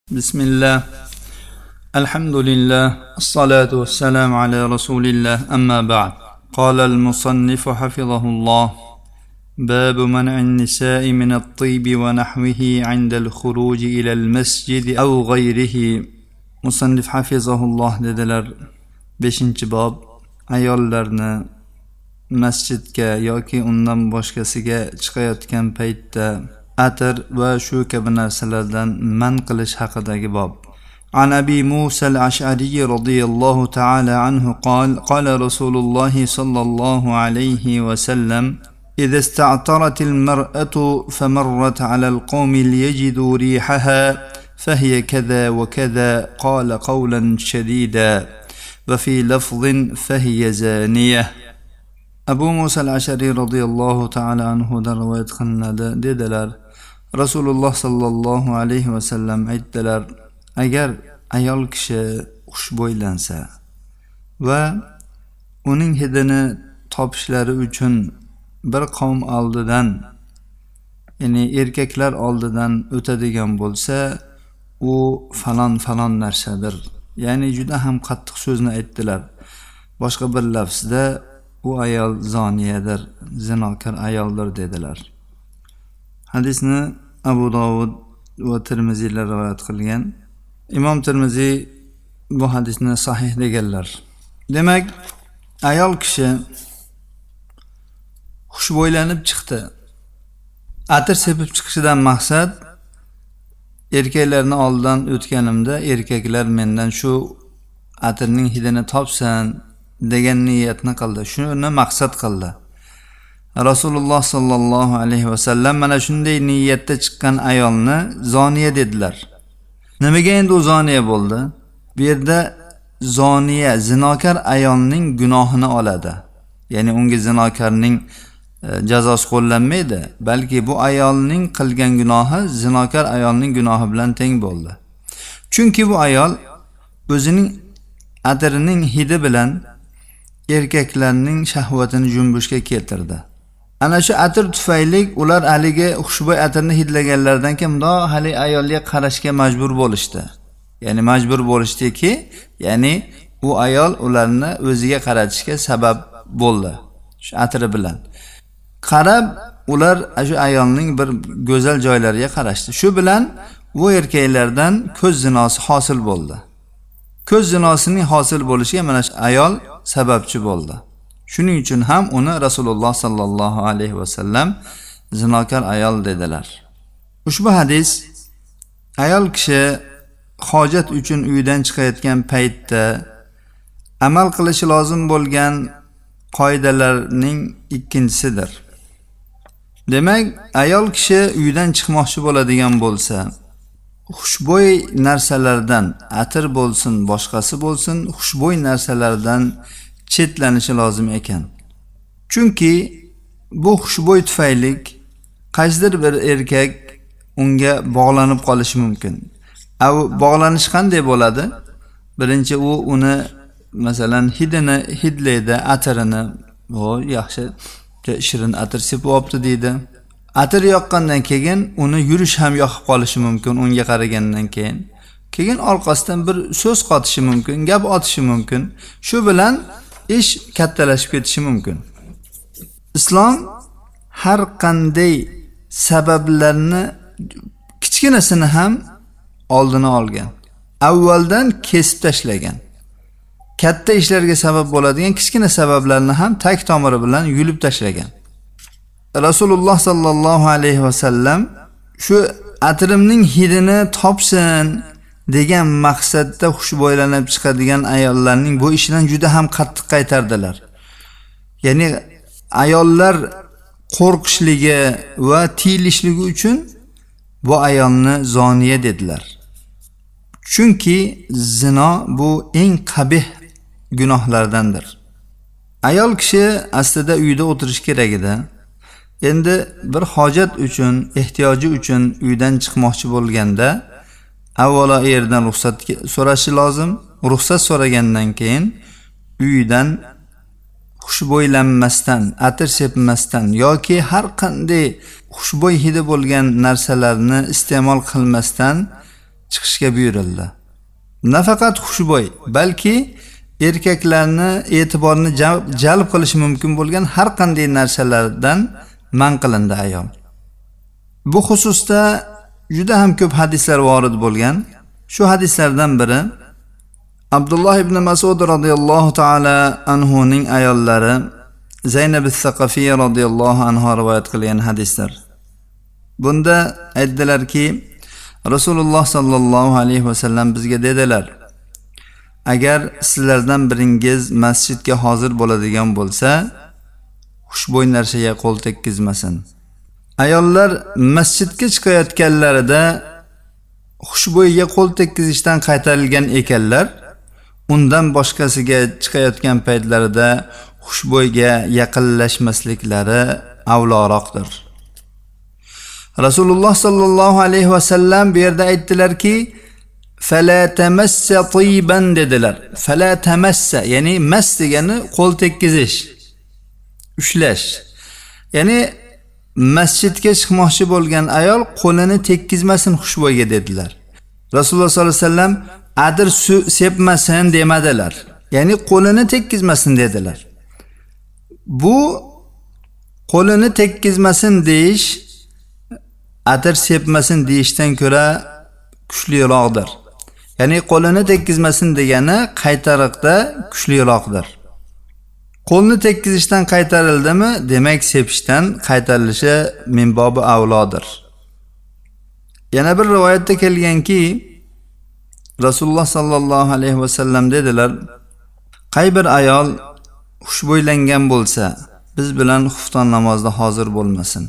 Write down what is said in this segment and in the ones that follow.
بسم الله الحمد لله الصلاة والسلام على رسول الله أما بعد قال المصنف حفظه الله باب منع النساء من الطيب ونحوه عند الخروج إلى المسجد أو غيره مصنف حفظه الله dediler 5. bab ayollarni masjidga yoki undan boshqasiga chiqayotgan paytda atir va shu kabi narsalardan man qilish haqidagi bob. عن أبي موسى الأشعري رضي الله تعالى عنه قال رسول الله صلى الله عليه وسلم إذا استعطرت المرأة فمرت على القوم ليجدوا ريحها فهي كذا وكذا قال قولا شديدا وفي لفظ فهي زانية. Abu Musa al-Ash'ari radhiyallohu ta'ala anhu dan rivoyat qilinadi dedilar. Rasululloh sallallohu alayhi va sallam aytdilar: agar ayol kishi xushbo'ylansa va uning hidini topishlari uchun bir qavm oldidan, ya'ni erkaklar oldidan o'tadigan bo'lsa, u falon narsadir. Ya'ni juda ham qattiq so'zni aytdilar. Boshqa bir lafzda u ayol zoniyadir, zinokor ayoldir dedilar. Hadisni Abu Dovud va Tirmiziylar rivoyat qilgan. Imom Tirmiziy bu hadisni sahih deganlar. Demak, ayol kishi xushbo'ylanib chiqdi. Atir sepib chiqishidan maqsad erkaklarni oldidan o'tganimda erkaklar mendan shu atirning hidini topsin degan niyatni qildi. Shuni maqsad qildi. Rasululloh sallallohu alayhi va sallam mana shunday niyatda chiqqan ayolni zoniya dedilar. Nimaga endi u zoniya bo'ldi? Bu yerda zoniya zinokor ayolning gunohini oladi. Ya'ni unga zinokorning jazosi qo'llanmaydi, balki bu ayolning qilgan gunohi zinokor ayolning gunohi bilan teng bo'ldi. Chunki bu ayol o'zining atirining hidi bilan erkaklarning shahvatini junbushga keltirdi. Ana shu atir tufayli ular haligi xushbo'y atirni hidlaganlardan keyin hali ayolga qarashga majbur bo'lishdi. Ya'ni majbur bo'lishdiki, ya'ni u ayol ularni o'ziga qaratishga sabab bo'ldi. Shu atiri bilan qarab ular shu ayolning bir go'zal joylariga qarashdi. Shu bilan bu erkaklardan ko'z zinosi hosil bo'ldi. Ko'z zinosining hosil bo'lishiga mana shu ayol sababchi bo'ldi. Shuning uchun ham uni Rasululloh sallallohu alayhi va sallam zinokor ayol dedilar. Ushbu hadis ayol kishi hojat uchun uydan chiqayotgan paytda amal qilishi lozim bo'lgan qoidalarning ikkinchisidir. Demak, ayol kishi uydan chiqmoqchi bo'ladigan bo'lsa, xushbo'y narsalardan, atir bo'lsin, boshqasi bo'lsin, xushbo'y narsalardan chetlanishi lozim ekan. Chunki bu xushbo'y tufayli qaysidir bir erkak unga bog'lanib qolishi mumkin. Bog'lanish qanday bo'ladi? Birinchi u uni masalan hidini hidlaydi, atirini, "O, yaxshi, shirin atir sepib olibdi" deydi. Atir yoqqandan keyin uni yurish ham yoqib qolishi mumkin unga qaragandan keyin. Keyin orqasidan bir so'z qotishi mumkin, gap otishi mumkin. Shu bilan ish kattalashib ketishi mumkin. Islom har qanday sabablarni kichkinasini ham oldini olgan. Avvaldan kesib tashlagan. Katta ishlarga sabab bo'ladigan kichkina sabablarni ham tag tomiri bilan yulib tashlagan. Rasululloh sallallohu alayhi va sallam shu atirimning hidini topsin degan maqsadda xushbo'ylanib chiqadigan ayollarning bu ishidan juda ham qattiq qaytardilar. Ya'ni ayollar qo'rqishligi va tiyilishligi uchun bu ayolni zoniya dedilar. Chunki zino bu eng qabih gunohlardandir. Ayol kishi aslida uyda o'tirish kerak edi. Endi bir hojat uchun, ehtiyoji uchun uydan chiqmoqchi bo'lganda avvalo erdan ruxsat so'rashi lozim. Ruxsat so'ragandan keyin uydan xushbo'ylanmasdan, atir sepmasdan yoki har qanday xushbo'y hidi bo'lgan narsalarni iste'mol qilmasdan chiqishga buyurildi. Nafaqat xushbo'y, balki erkaklarni e'tiborini jalb qilishi mumkin bo'lgan har qanday narsalardan man qilindi ayol. Bu xususda juda ham ko'p hadislar vorid bo'lgan. Shu hadislardan biri Abdulloh ibn Mas'ud radhiyallohu ta'ala anhuning ayollari Zaynab as-Saqafiyya radhiyallohu anha rivoyat qilgan hadislar. Bunda aytdilarki, Rasululloh sallallohu alayhi vasallam bizga dedilar: agar sizlardan biringiz masjidga hozir bo'ladigan bo'lsa, xushbo'y narsaga qo'l tekkizmasin. Ayollar masjidga chiqayotganlarida xushbo'yga qo'l tekkizishdan qaytarilgan ekanlar, undan boshqasiga chiqayotgan paytlarida xushbo'yga yaqinlashmasliklari avloroqdir. Rasululloh sallallohu alayhi vasallam bu yerda aytdilarki, fala tamassa tayyiban dedilar. Fala tamassa, ya'ni mas degani qo'l tekkizish, ushlash. Ya'ni masjidga chiqmoqchi bo'lgan ayol qo'lini tekkizmasin xushbo'yga dedilar. Rasululloh sallallohu alayhi vasallam adir sepmasin demadilar. Ya'ni qo'lini tekkizmasin dedilar. Bu qo'lini tekkizmasin deyish atir sepmasin deyishdan ko'ra kuchliroqdir. Ya'ni qo'lini tekkizmasin degani qaytariqda kuchliroqdir. Qo'lni tekkizishdan qaytarildimi, demak sepishdan qaytarilishi minbobi avlodir. Yana bir rivoyatda kelganki, Rasululloh sallallohu alayhi vasallam dedilar: qay bir ayol xushbo'ylangan bo'lsa, biz bilan xufton namozda hozir bo'lmasin.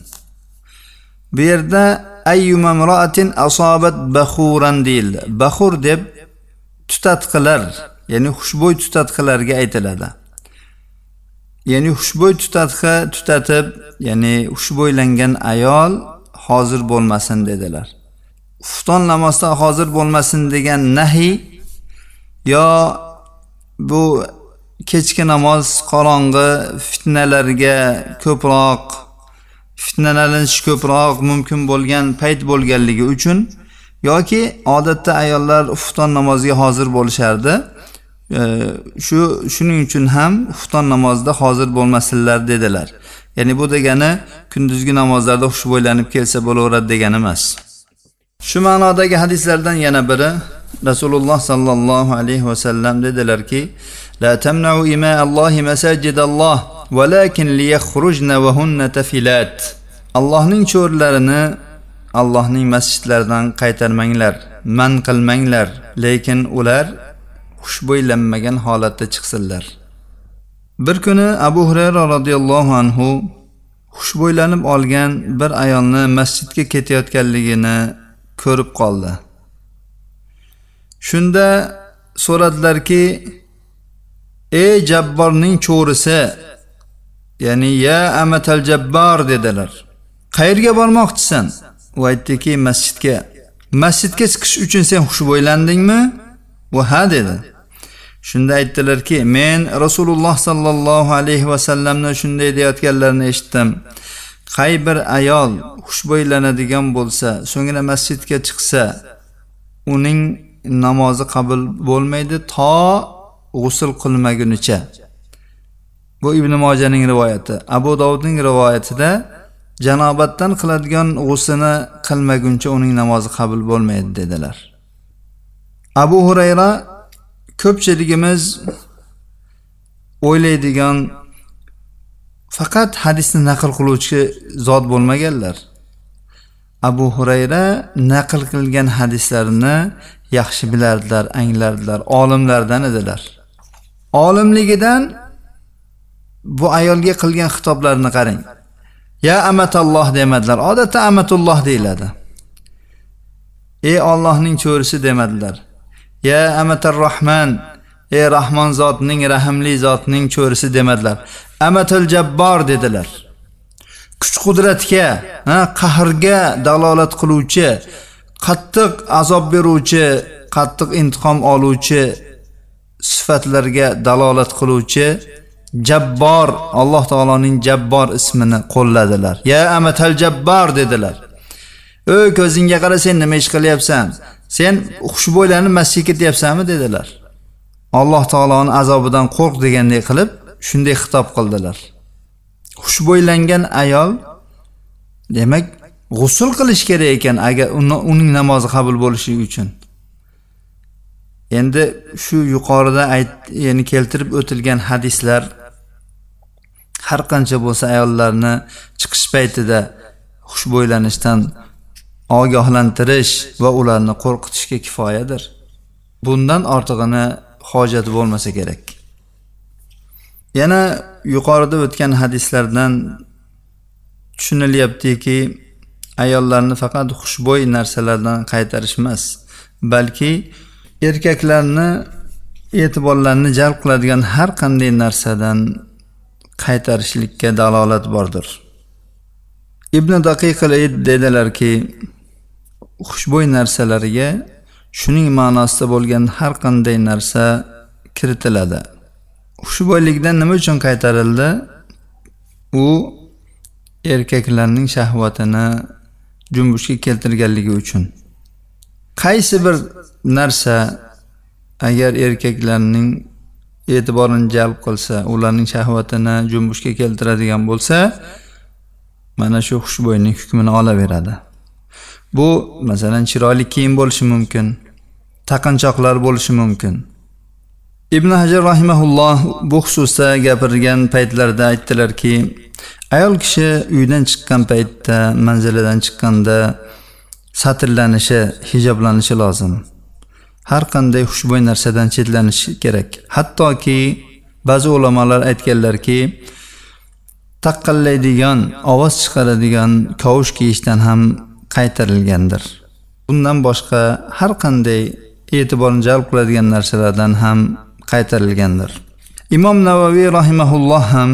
Bu yerda ayyuma imra'atin asobat bakhuran deyildi. Bakhur deb tutatqilar, ya'ni xushbo'y tutatqilarga aytiladi. Ya'ni xushbo'y tutatqi tutatib, ya'ni xushbo'ylangan ayol hozir bo'lmasin dedilar. Xufton namozda hozir bo'lmasin degan nahiy yo bu kechki namoz qorong'i fitnalarga ko'proq fitnalanish ko'proq mumkin bo'lgan payt bo'lganligi uchun yoki odatda ayollar xufton namoziga hozir bo'lishardi. Shuning uchun ham xufton namozida hozir bo'lmasinlar dedilar. Ya'ni bu degani kunduzgi namozlarda xushbo'ylanib kelsa bo'laveradi degani emas. Shu ma'nodagi hadislardan yana biri Rasululloh sallallohu alayhi vasallam dedilarki: la tamna'u ima Allohi masajidalloh walakin liyakhrujna wa hunna tafilat. Allohning cho'rlarini Allohning masjidlaridan qaytarmanglar, man qilmanglar, lekin ular xushbo'ylanmagan holatda chiqsinlar. Bir kuni Abu Hurayra radhiyallohu anhu xushbo'ylanib olgan bir ayolni masjidga ketayotganligini ko'rib qoldi. Shunda so'radilarki: ey Jabborning cho'risi, ya'ni ya amatal Jabbar dedilar. Qayerga bormoqchisan? U aytdiki, masjidga. Masjidga chiqish uchun sen xushbo'ylandingmi? U ha dedi. Shunda aytdilarki, men Rasululloh sallallohu alayhi vasallamni shunday deyotganlarini eshitdim. Qay bir ayol xushbo'ylanadigan bo'lsa, so'ngra masjidga chiqsa, uning namozi qabul bo'lmaydi to g'usl qilmagunicha. Bu Ibn Mojaning rivoyati. Abu Dovudning rivoyatida janobatdan qiladigan g'uslini qilmaguncha uning namozi qabul bo'lmaydi dedilar. Abu Hurayra ko'pchiligimiz o'ylaydigan faqat hadisni naql qiluvchi zot bo'lmaganlar. Abu Hurayra naql qilgan hadislarni yaxshi bilardilar, anglardilar, olimlardan edilar. Olimligidan bu ayolga qilgan xitoblarini qarang. Ya amatalloh demadilar. Odatda amatulloh deyiladi. Ey Allohning cho'risi demadilar. Ya amatar Rahman, ey Rahmon zotning, rahimli zotning cho'risi demadilar. Amatul Jabbar dedilar. Kuch qudratga, qahrga dalolat qiluvchi, qattiq azob beruvchi, qattiq intiqom oluvchi sifatlarga dalolat qiluvchi Jabbor, Alloh taoloning Jabbor ismini qo'lladilar. Ya amatal Jabbar dedilar. Ey ko'zingga qara, sen nima ish qilyapsan? Sen xushbo'ylarni masjidga ketyapsanmi dedilar. Alloh taoloning azobidan qo'rq degandek qilib shunday xitob qildilar. Xushbo'ylangan ayol demak g'usl qilish kerak ekan agar uning namozi qabul bo'lishi uchun. Endi shu yuqorida ya'ni keltirib o'tilgan hadislar har qancha bo'lsa ayollarni chiqish paytida xushbo'ylanishdan ogohlantirish va ularni qo'rqitishga kifoyadir. Bundan ortig'ini hojati bo'lmasa kerak. Yana yuqorida o'tgan hadislardan tushunilyaptiki, ayollarni faqat xushbo'y narsalardan qaytarish emas, balki erkaklarni e'tiborlarini jalb qiladigan har qanday narsadan qaytarishlikka dalolat bordir. Ibn Daqiq al-Id dedilarki, xushbo'y narsalarga shuning ma'nosida bo'lgan har qanday narsa kiritiladi. Xushbo'ylikdan nima uchun qaytarildi? U erkaklarning shahvatini junbushga keltirganligi uchun. Qaysi bir narsa agar erkaklarning e'tiborini jalb qilsa, ularning shahvatini junbushga keltiradigan bo'lsa, mana shu xushbo'yning hukmini olaveradi. Bu masalan chiroyli kiyim bo'lishi mumkin, taqinchoqlar bo'lishi mumkin. Ibn Hajar rahimahulloh bu xususda gapirgan paytlarda aytdilarki, ayol kishi uydan chiqqan paytda, manzilidan chiqqanda satrlanishi, hijoblanishi lozim. Har qanday xushbo'y narsadan chetlanishi kerak. Hattoki ba'zi ulamolar aytganlarki, taqqallaydigan, ovoz chiqaradigan kavush kiyishdan ham qaytarilgandir. Bundan boshqa har qanday e'tiborni jalb qiladigan narsalardan ham qaytarilgandir. Imom Navaviy rahimahulloh ham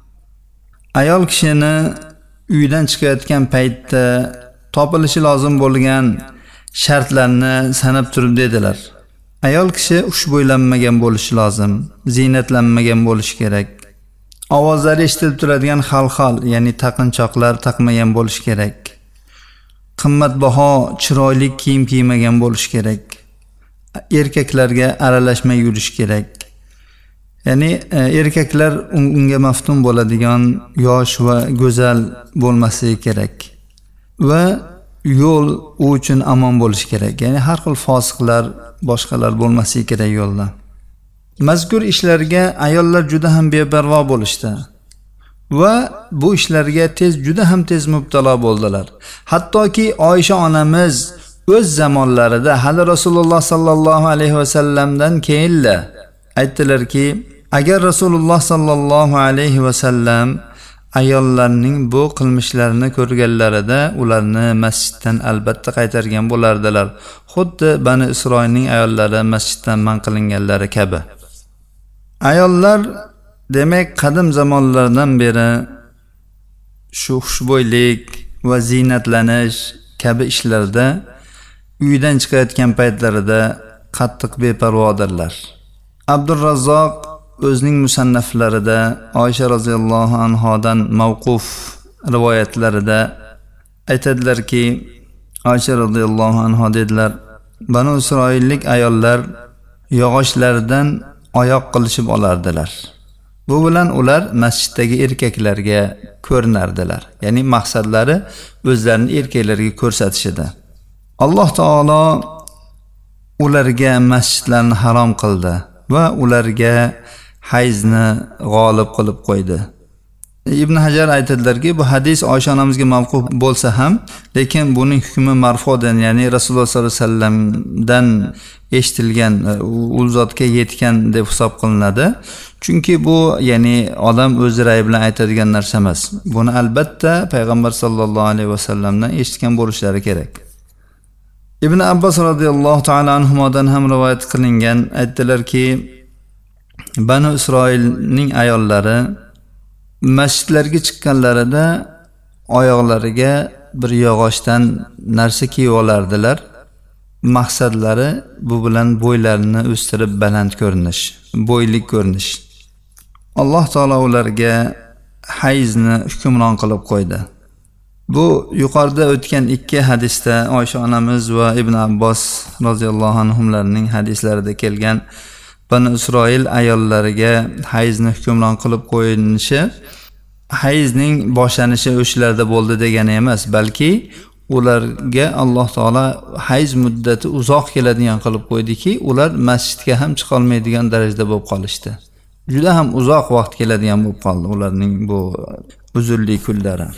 ayol kishini uydan chiqayotgan paytda topilishi lozim bo'lgan shartlarni sanab turib dedilar. Ayol kishi xushbo'ylanmagan bo'lishi lozim, ziynatlanmagan bo'lishi kerak. Ovozlari eshitilib turadigan xalxal, ya'ni taqinchoqlar taqmagan bo'lishi kerak. Qimmatbaho, chiroyli kiyim kiymagan bo'lishi kerak. Erkaklarga aralashmay yurish kerak. Ya'ni erkaklar unga maftun bo'ladigan yosh va go'zal bo'lmasligi kerak. Va yo'l u uchun amon bo'lishi kerak. Ya'ni har xil fosiqlar, boshqalar bo'lmasligi kerak yo'lda. Mazkur ishlarga ayollar juda ham beparvo bo'lishdi va bu ishlarga juda ham tez mubtalo bo'ldilar. Hattoki Oysha onamiz o'z zamonlarida hali Rasululloh sallallohu alayhi va sallamdan keyinla aytdilarki, agar Rasululloh sallallohu alayhi va sallam ayollarning bu qilmishlarini ko'rganlarida ularni masjiddan albatta qaytargan bo'lardilar. Xuddi Bani Isroilning ayollari masjiddan man qilinganlari kabi. Ayollar demak qadim zamonlardan beri shu xushbo'ylik va ziynatlanish kabi ishlarda uydan chiqayotgan paytlarida qattiq beparvodirlar. Abdurrazzoq o'zining musannaflarida Oysha roziyallohu anhodan mavquf rivoyatlarida aytadilarki, Oysha roziyallohu anho dedilar, Banu Isroillik ayollar yog'ochlardan oyoq qilishib olardilar. Bu bilan ular masjiddagi erkaklarga ko'rinardilar. Ya'ni maqsadlari o'zlarini erkaklarga ko'rsatish edi. Alloh taolo ularga masjidlarni harom qildi va ularga hayzni g'olib qilib qo'ydi. Ibn Hajar aytadilarki, bu hadis Oysha onamizga mavquf bo'lsa ham, lekin buning hukmi marfudan, ya'ni Rasululloh sollallohu alayhi vasallamdan eshitilgan, u zotga yetgan deb hisob qilinadi. Chunki bu ya'ni odam o'z rayi bilan aytadigan narsa emas. Buni albatta payg'ambar sollallohu alayhi vasallamdan eshitgan bo'lishlari kerak. Ibn Abbos radhiyallohu ta'ala anhudan ham rivoyat qilingan, aytdilarki, Banu Isroilning ayollari masjidlarga chiqqanlarida oyoqlariga bir yog'ochdan narsa kiyib olardilar. Maqsadlari bu bilan bo'ylarini o'stirib baland ko'rinish, bo'ylik ko'rinish. Alloh taolo ularga hayzni hukmron qilib qo'ydi. Bu yuqorida o'tgan ikki hadisda Oysha onamiz va Ibn Abbos roziyallohu anhumlarning hadislarida kelgan Bani Isroil ayollariga hayzni hukmron qilib qo'yilishi hayzning boshlanishi o'shalarda bo'ldi degani emas, balki ularga Alloh taolo hayz muddati uzoq keladigan qilib qo'ydiki, ular masjidga ham chiqa olmaydigan darajada bo'lib qolishdi. Juda ham uzoq vaqt keladigan bo'lib qoldi ularning bu uzunlik kunlari.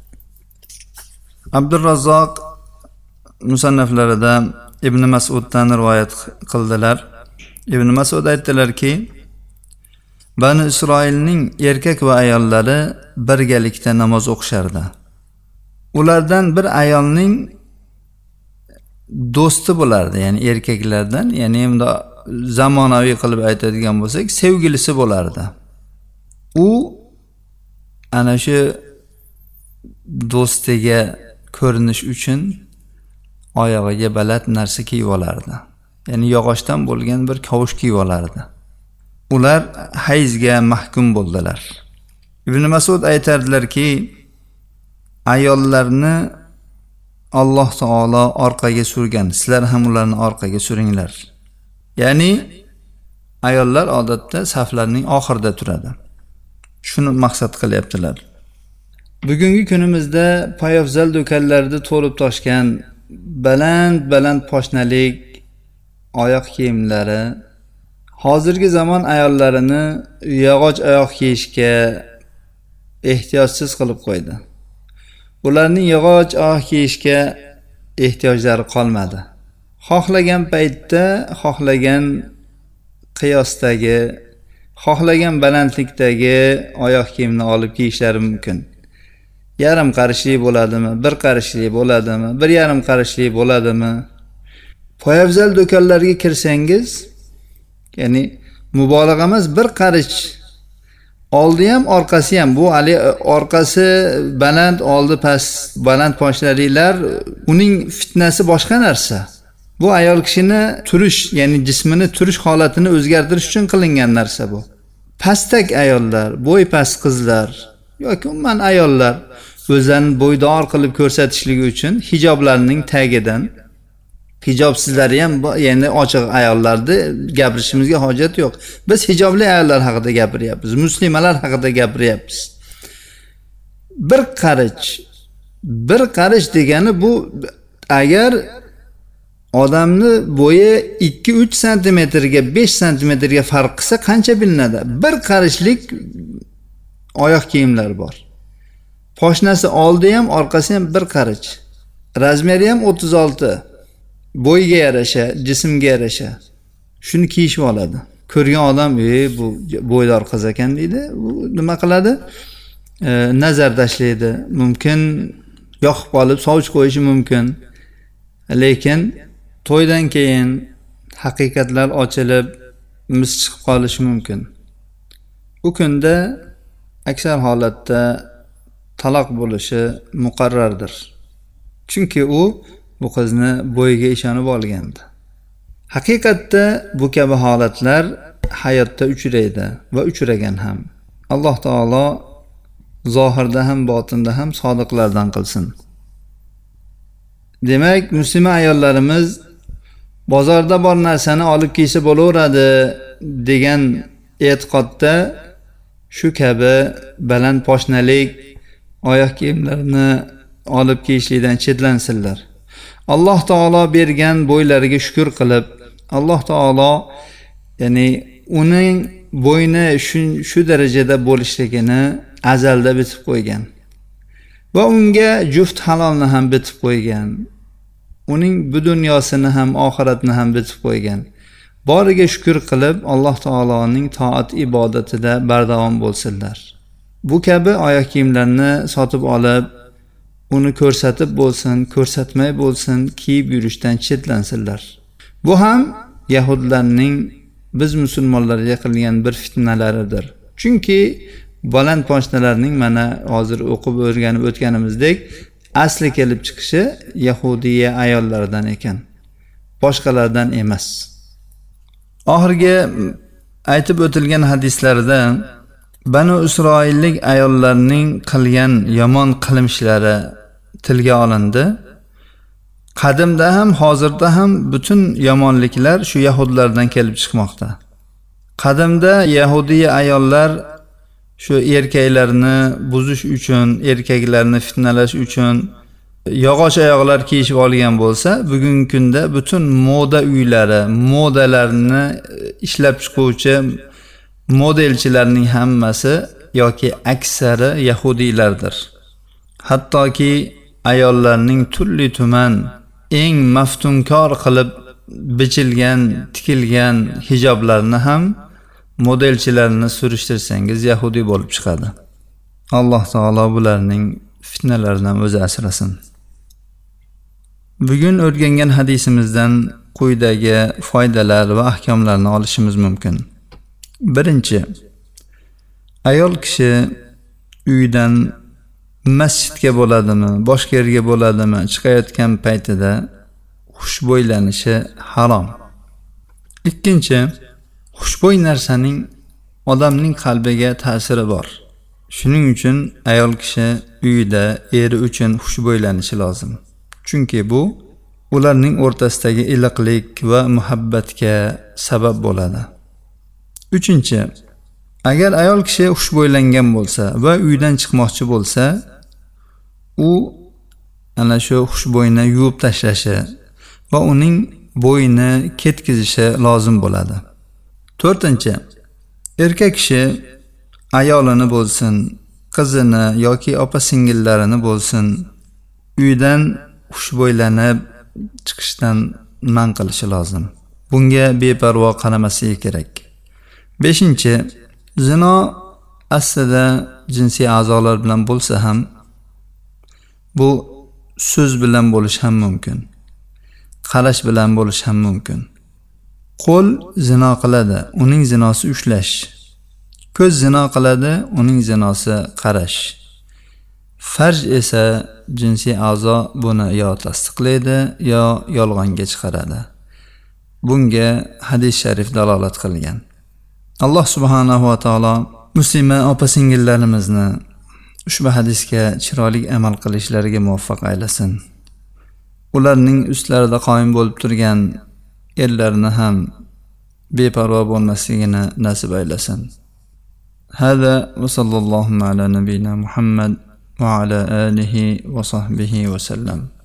Abdurrazzoq musannaflarida Ibn Mas'uddan rivoyat qildilar. Ibn Mas'ud aytdilarki, Bani Isroilning erkak va ayollari birgalikda namoz o'qishardi. Ulardan bir ayolning do'sti bo'lardi, ya'ni erkaklardan, ya'ni endi zamonaviy qilib aytadigan bo'lsak, sevgilisi bo'lardi. U ana shu do'stiga ko'rinish uchun oyog'iga baland narsa kiyib olardi. Ya'ni yog'ochdan bo'lgan bir kavush kiyib olardi. Ular hayzga mahkum bo'ldilar. Ibn Mas'ud aytardilarki, ayollarni Alloh taolo orqaga surgan, sizlar ham ularni orqaga suringlar. Ya'ni ayollar odatda saflarning oxirida turadi. Shuni maqsad qilyaptilar. Bugungi kunimizda poyafzal do'konlarda to'lib toshgan baland poshnalik oyoq kiyimlari hozirgi zamon ayollarini yog'och oyoq kiyishga ehtiyotsiz qilib qo'ydi. Ularning yog'och oyoq kiyishga ehtiyojlari qolmadi. Xohlagan paytda, xohlagan qiyosdagi, xohlagan balandlikdagi oyoq kiyimni olib kiyishlari mumkin. Yarim qarishli bo'ladimi, bir qarishli bo'ladimi, bir yarim qarishli bo'ladimi? Poyafzal do'konlarga kirsangiz, ya'ni mubolag'a emas, bir qarish oldi ham, orqasi ham, bu ali orqasi baland, oldi past, baland poshnalilar, uning fitnasi boshqa narsa. Bu ayol kishini turish, ya'ni jismini turish holatini o'zgartirish uchun qilingan narsa bu. Pastak ayollar, bo'y past qizlar yoki umuman ayollar o'zlarini bo'ydor qilib ko'rsatishligi uchun hijoblarning tagidan, hijobsizlari ham, ya'ni ochiq ayollarni gapirishimizga hojat yo'q. Biz hijobli ayollar haqida gapiryapmiz, muslimalar haqida gapiryapmiz. Bir qarish degani bu, agar odamni bo'yi 2-3 santimetrga, 5 santimetrga farq qilsa qancha bilinadi? Bir qarishlik oyoq kiyimlar bor. Poshnasi oldi ham, orqasi ham bir qarich. Razmeri ham 36. Bo'yga yarasha, jismga yarasha. Shuni kiyishib oladi. Ko'rgan odam, bu bo'ydor qiz ekan deydi. U nima qiladi? Nazar tashlaydi. Mumkin yoqib qolib sovchi qo'yishi mumkin. Lekin to'ydan keyin haqiqatlar ochilib, mis chiqib qolishi mumkin. U kunda aksar holatda taloq bo'lishi muqarrardir. Chunki u bu qizni bo'yiga ishonib olgandi. Haqiqatda bu kabi holatlar hayotda uchraydi va uchragan ham. Alloh taolo zohirda ham botinda ham sodiqlardan qilsin. Demak, musulmon ayollarimiz bozorda bor narsani olib kiysa bo'laveradi degan e'tiqodda shu kabi baland poshnalik oyoq kiyimlarini olib kiyishlikdan chetlansinlar. Alloh taolo bergan bo'ylariga shukr qilib, Alloh taolo ya'ni uning bo'yni shu darajada bo'lishligini azalda bitib qo'ygan. Va unga juft halolni ham bitib qo'ygan. Uning bu dunyosini ham, oxiratni ham bitib qo'ygan. Boriga shukr qilib, Alloh taoloning toat ibodatida bardavom bo'lsinlar. Bu kabi oyoq kiyimlarni sotib olib, uni ko'rsatib bo'lsin, ko'rsatmay bo'lsin, kiyib yurishdan chetlansinlar. Bu ham yahudlarning biz musulmonlarga qilgan bir fitnalaridir. Chunki baland poshnalarning mana hozir o'qib o'rganib o'tganimizdek asli kelib chiqishi yahudiya ayollardan ekan, boshqalardan emas. Oxirgi aytib o'tilgan hadislarda Banu Isroillik ayollarning qilgan yomon qilmishlari tilga olindi. Qadimda ham, hozirda ham butun yomonliklar shu yahudlardan kelib chiqmoqda. Qadimda yahudiy ayollar shu erkaklarni buzish uchun, erkaklarni fitnalash uchun yog'och oyoqlar kiyishib olgan bo'lsa, bugungi kunda butun moda uylari, modalarni ishlab chiquvchi modelchilarning hammasi yoki aksari yahudiylardir. Hattoki ayollarning turli tuman eng maftunkor qilib bichilgan, tikilgan hijoblarni ham modelchilarini surishtirsangiz yahudiy bo'lib chiqadi. Alloh taolo bularning fitnalaridan o'zi asrasin. Bugun o'rgangan hadisimizdan quyidagi foydalar va ahkomlarni olishimiz mumkin. Birinchi, ayol kishi uydan masjidga bo'ladimi, boshqa yerga bo'ladimi, chiqayotgan paytida xushbo'ylanishi harom. Ikkinchi, xushbo'y narsaning odamning qalbiga ta'siri bor. Shuning uchun ayol kishi uyida eri uchun xushbo'ylanishi lozim. Chunki bu ularning o'rtasidagi iliqlik va muhabbatga sabab bo'ladi. Uchinchi, agar ayol kishi xushbo'ylangan bo'lsa va uydan chiqmoqchi bo'lsa, u ana shu xushbo'yni yuvib tashlashi va uning bo'yini ketkizishi lozim bo'ladi. To'rtinchi, erkak kishi ayolini bo'lsin, qizini yoki opa-singillarini bo'lsin, uydan xushbo'ylanib chiqishdan man qilishi lozim. Bunga beparvo qaramasligi kerak. Beshinchi, zino aslida jinsiy a'zolar bilan bo'lsa ham, bu so'z bilan bo'lish ham mumkin. Qarash bilan bo'lish ham mumkin. Qo'l zino qiladi, uning zinosi ushlash. Ko'z zino qiladi, uning zinosi qarash. Farj esa jinsiy a'zo buni yo tasdiqlaydi, yo yolg'onga chiqaradi. Bunga hadis sharif dalolat qilgan. Alloh subhanahu va taolo muslima opa-singillarimizni ushbu hadisga chiroyli amal qilishlariga muvaffaq aylasin. Ularning ustlarida qoyim bo'lib turgan erlarini ham beparvo bo'lmasligini nasib aylasin. Hada va sallallohu ala nabiyina Muhammad va ala alihi va sahbihi va sallam.